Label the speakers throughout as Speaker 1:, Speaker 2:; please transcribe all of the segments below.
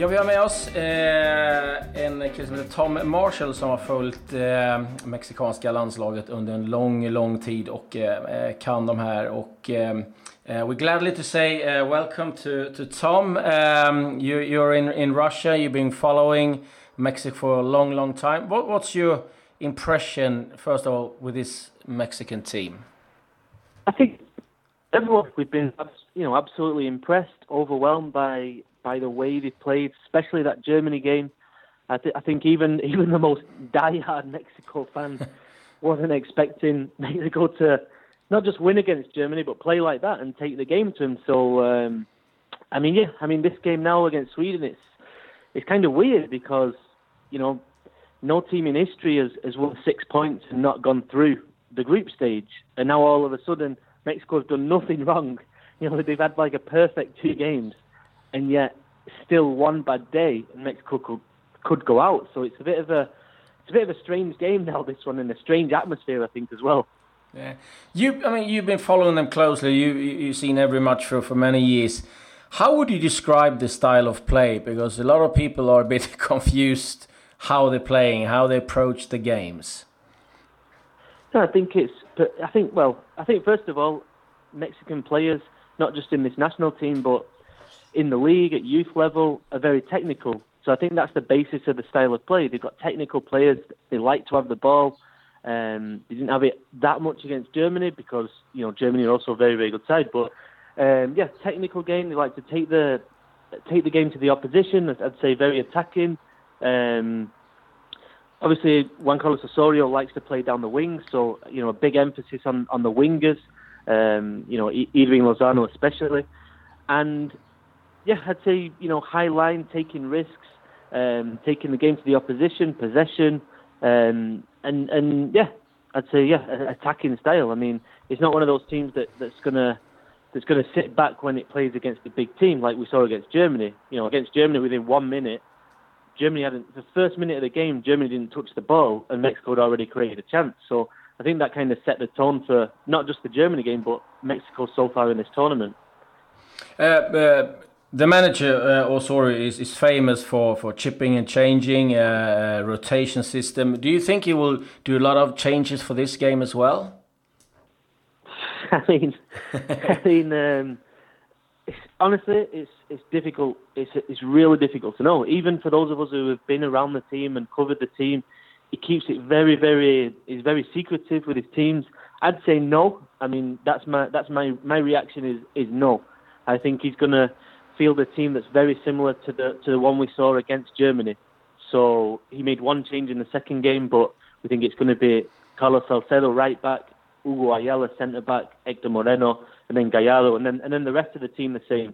Speaker 1: Ja, vi har med oss en kille som heter Tom Marshall som har följt mexikanska landslaget under en lång tid och kan de här. Och we gladly to say welcome to Tom. You're in Russia. You've been following Mexico for a long time. What's your impression, first of all, with this Mexican team?
Speaker 2: I think everyone, we've been, absolutely impressed, overwhelmed by the way they played, especially that Germany game. I think even the most die-hard Mexico fans wasn't expecting Mexico to not just win against Germany, but play like that and take the game to them. So, this game now against Sweden, it's kind of weird because, no team in history has won 6 points and not gone through the group stage. And now all of a sudden, Mexico's done nothing wrong. They've had like a perfect 2 games, and yet still one bad day, and Mexico could go out. So it's a bit of a strange game now, this one, and a strange atmosphere, I think, as well.
Speaker 1: Yeah, you've been following them closely. You've seen every match for many years. How would you describe the style of play? Because a lot of people are a bit confused how they're playing, how they approach the games.
Speaker 2: I think first of all, Mexican players, not just in this national team, but in the league at youth level, are very technical. So I think that's the basis of the style of play. They've got technical players. They like to have the ball. They didn't have it that much against Germany because Germany are also a very, very good side. But technical game. They like to take the game to the opposition. I'd say very attacking. Obviously, Juan Carlos Osorio likes to play down the wings, so a big emphasis on the wingers. Irving Lozano especially, and I'd say high line, taking risks, taking the game to the opposition, possession, and I'd say attacking style. I mean, it's not one of those teams that's gonna sit back when it plays against a big team like we saw against Germany. Against Germany within 1 minute. The first minute of the game, Germany didn't touch the ball, and Mexico had already created a chance. So I think that kind of set the tone for not just the Germany game, but Mexico so far in this tournament.
Speaker 1: The manager, Osorio, is famous for chipping and changing, rotation system. Do you think he will do a lot of changes for this game as well?
Speaker 2: Honestly, it's difficult. It's really difficult to know. Even for those of us who have been around the team and covered the team, he keeps it very, very. He's very secretive with his teams. I'd say no. I mean, that's my reaction is no. I think he's gonna field a team that's very similar to the one we saw against Germany. So he made one change in the second game, but we think it's going to be Carlos Salcedo right back, Hugo Ayala centre back, Hector Moreno, and then Gallardo, and then the rest of the team the same.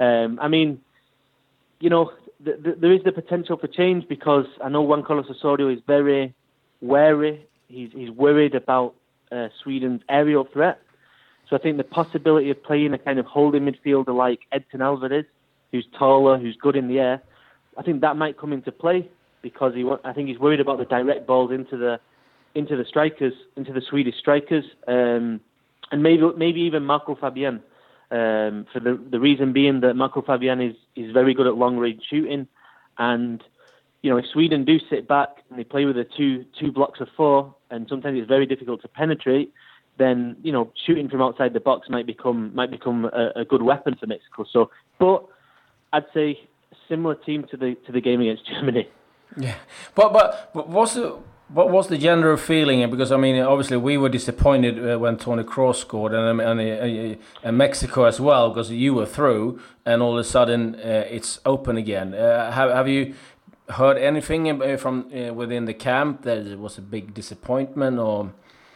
Speaker 2: There is the potential for change because I know Juan Carlos Osorio is very wary. He's worried about Sweden's aerial threat. So I think the possibility of playing a kind of holding midfielder like Edson Alvarez, who's taller, who's good in the air, I think that might come into play because I think he's worried about the direct balls into the strikers, into the Swedish strikers, and maybe even Marco Fabian. For the reason being that Marco Fabian is very good at long range shooting, and if Sweden do sit back and they play with a two blocks of 4, and sometimes it's very difficult to penetrate, then shooting from outside the box might become a good weapon for Mexico. So, but I'd say similar team to the game against Germany.
Speaker 1: Yeah, but what was the general feeling? Because obviously we were disappointed when Toni Kroos scored, and Mexico as well, because you were through, and all of a sudden it's open again. Have you heard anything from within the camp that it was a big disappointment, or?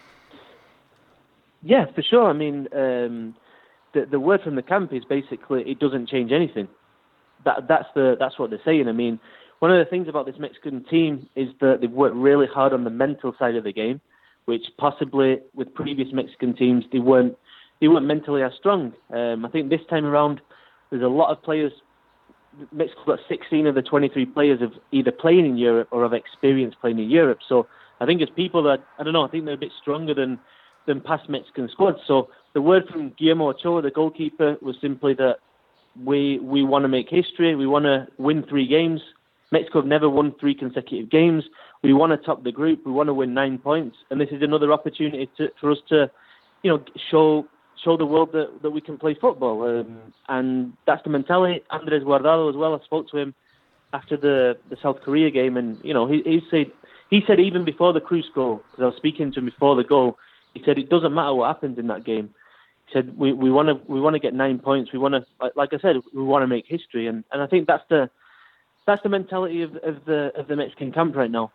Speaker 2: Yeah, for sure. The word from the camp is basically it doesn't change anything. That's what they're saying. One of the things about this Mexican team is that they've worked really hard on the mental side of the game, which possibly with previous Mexican teams they weren't mentally as strong. I think this time around there's a lot of players. Mexico's got 16 of the 23 players have either playing in Europe or have experience playing in Europe. So I think it's people that I think they're a bit stronger than past Mexican squads. So the word from Guillermo Ochoa, the goalkeeper, was simply that we want to make history. We want to win 3 games. Mexico have never won 3 consecutive games. We want to top the group. We want to win 9 points, and this is another opportunity for us to, show the world that we can play football. And that's the mentality. Andres Guardado as well. I spoke to him after the South Korea game, and he said even before the Cruz goal, because I was speaking to him before the goal, he said it doesn't matter what happens in that game. He said we want to get 9 points. We want to, like I said, we want to make history, and I think that's the mentality of the Mexican camp right now.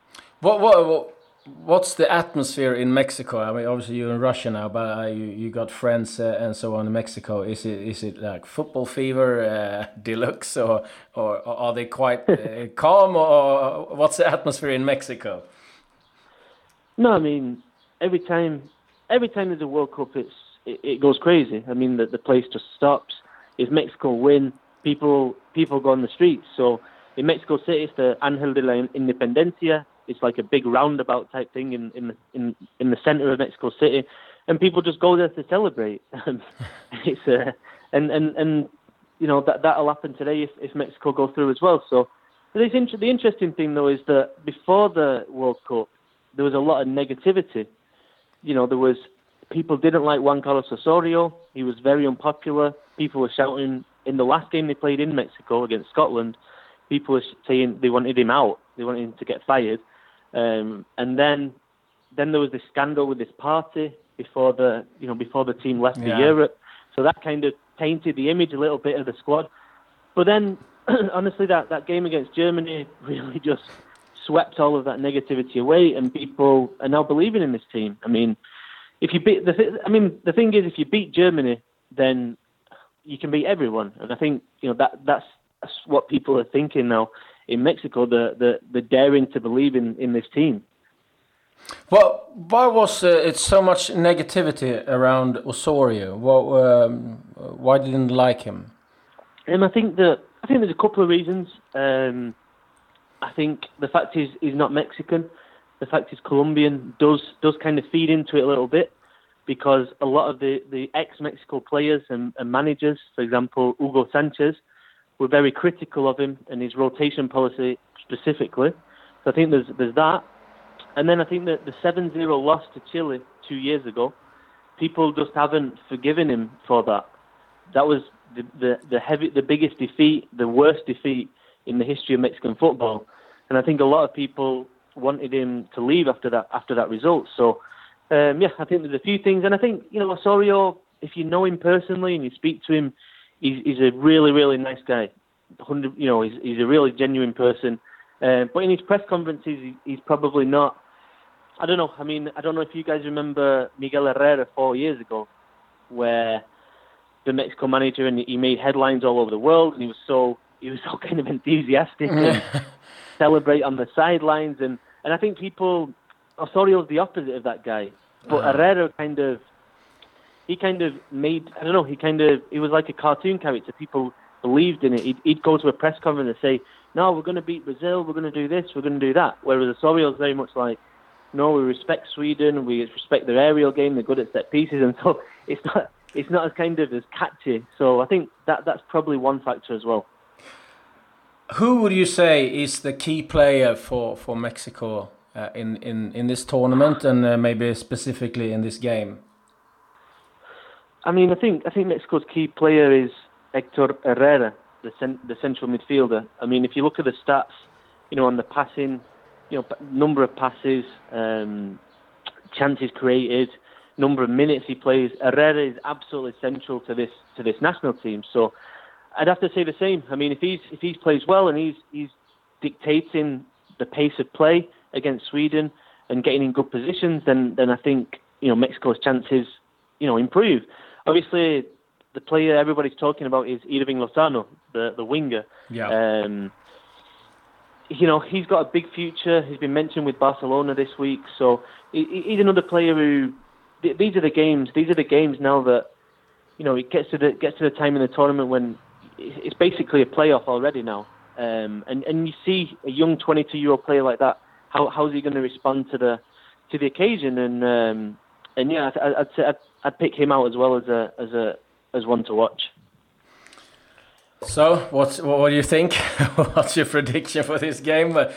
Speaker 1: What's the atmosphere in Mexico? I mean, obviously you're in Russia now, but you got friends and so on in Mexico. Is it like football fever deluxe, or are they quite calm, or what's the atmosphere in Mexico?
Speaker 2: No, I mean every time there's a World Cup, it goes crazy. I mean the place just stops. If Mexico win, people go on the streets. So in Mexico City, it's the Ángel de la Independencia. It's like a big roundabout type thing in the center of Mexico City, and people just go there to celebrate. It's and that'll happen today if Mexico go through as well. So the interesting thing though is that before the World Cup, there was a lot of negativity. There was people didn't like Juan Carlos Osorio. He was very unpopular. People were shouting in the last game they played in Mexico against Scotland. People were saying they wanted him out. They wanted him to get fired. And then there was this scandal with this party before the team left for Europe. So that kind of tainted the image a little bit of the squad. But then, honestly, that game against Germany really just swept all of that negativity away, and people are now believing in this team. I mean, if you beat the thing is, if you beat Germany, then you can beat everyone, and I think that's what people are thinking now in Mexico. The daring to believe in this team.
Speaker 1: Well, why was it so much negativity around Osorio? Why didn't you like him?
Speaker 2: I think there's a couple of reasons. I think the fact he's not Mexican, the fact he's Colombian does kind of feed into it a little bit, because a lot of the ex-Mexico players and managers, for example, Hugo Sanchez, were very critical of him and his rotation policy specifically. So I think there's that. And then I think that the 7-0 loss to Chile 2 years ago, people just haven't forgiven him for that. That was the biggest defeat, the worst defeat in the history of Mexican football. And I think a lot of people wanted him to leave after that result. So, I think there's a few things. And I think, Osorio, if you know him personally and you speak to him, he's a really, really nice guy. He's a really genuine person. But in his press conferences, he's probably not. I don't know. I mean, I don't know if you guys remember Miguel Herrera 4 years ago, where the Mexico manager, and he made headlines all over the world, and he was so kind of enthusiastic and celebrate on the sidelines, and I think Osorio's the opposite of that guy. But Herrera he was like a cartoon character. People believed in it. He'd go to a press conference and say, "No, we're going to beat Brazil. We're going to do this. We're going to do that." Whereas Osorio's very much like, "No, we respect Sweden. We respect their aerial game. They're good at set pieces." And so it's not as kind of as catchy. So I think that's probably one factor as well.
Speaker 1: Who would you say is the key player for Mexico in this tournament, and maybe specifically in this game?
Speaker 2: I mean, I think Mexico's key player is Héctor Herrera, the central midfielder. I mean, if you look at the stats, on the passing, number of passes, chances created, number of minutes he plays, Herrera is absolutely central to this national team. So I'd have to say the same. I mean, if he plays well and he's dictating the pace of play against Sweden and getting in good positions, then I think Mexico's chances improve. Obviously, the player everybody's talking about is Irving Lozano, the winger.
Speaker 1: Yeah.
Speaker 2: He's got a big future. He's been mentioned with Barcelona this week, so he's another player who. These are the games now that it gets to the time in the tournament when it's basically a playoff already now, and you see a young 22-year-old player like that. How's he going to respond to the occasion? I'd say I'd pick him out as well as one to watch.
Speaker 1: So, what do you think? What's your prediction for this game? But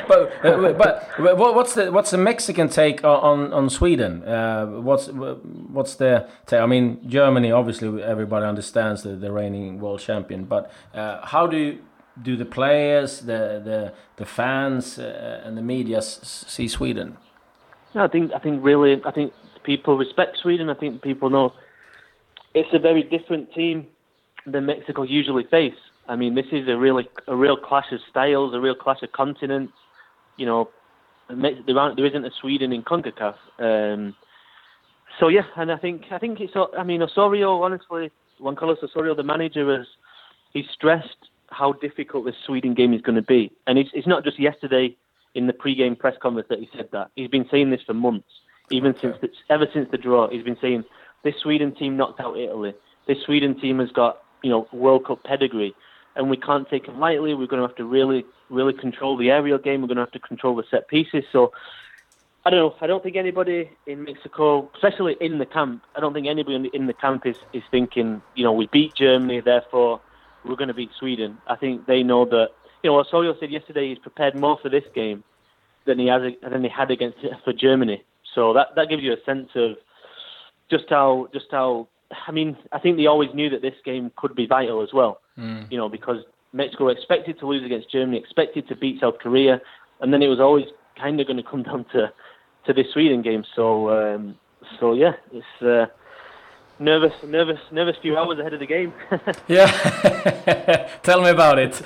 Speaker 1: what's the Mexican take on Sweden? What's the take? I mean, Germany, obviously everybody understands the reigning world champion, but how do the players, the fans, and the media see Sweden?
Speaker 2: No, I think people respect Sweden. I think people know it's a very different team than Mexico usually face. I mean, this is a real clash of styles, a real clash of continents. You know, there isn't a Sweden in CONCACAF. So yeah, and I think it's. I mean, Osorio, honestly, Juan Carlos Osorio, the manager, he's stressed how difficult this Sweden game is going to be, and it's not just yesterday in the pre-game press conference that he said that. He's been saying this for months, ever since the draw. He's been saying this Sweden team knocked out Italy. This Sweden team has got, you know, World Cup pedigree, and we can't take it lightly. We're going to have to really, really control the aerial game. We're going to have to control the set pieces. So, I don't know. I don't think anybody in Mexico, especially in the camp, I don't think anybody in the camp is thinking, you know, we beat Germany, therefore we're going to beat Sweden. I think they know that, you know, Osorio said yesterday he's prepared more for this game than he had for Germany. So that gives you a sense of just how. I mean, I think they always knew that this game could be vital as well. You know, because Mexico were expected to lose against Germany, expected to beat South Korea, and then it was always kind of going to come down to this Sweden game. So yeah, it's nervous few hours ahead of the game.
Speaker 1: Yeah, tell me about it.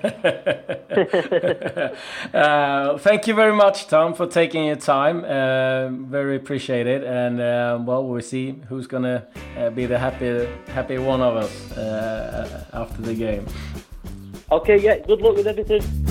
Speaker 1: Thank you very much, Tom, for taking your time. Very appreciated. And well, we'll see who's gonna be the happy one of us after the game.
Speaker 2: Okay, yeah. Good luck with everything.